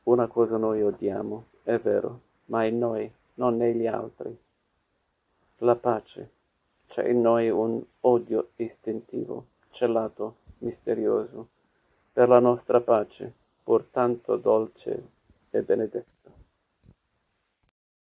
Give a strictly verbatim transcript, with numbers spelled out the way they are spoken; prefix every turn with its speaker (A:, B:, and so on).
A: Una cosa noi odiamo, è vero, ma in noi, non negli altri. La pace. C'è in noi un odio istintivo, celato, misterioso, per la nostra pace, pur tanto dolce e benedetta.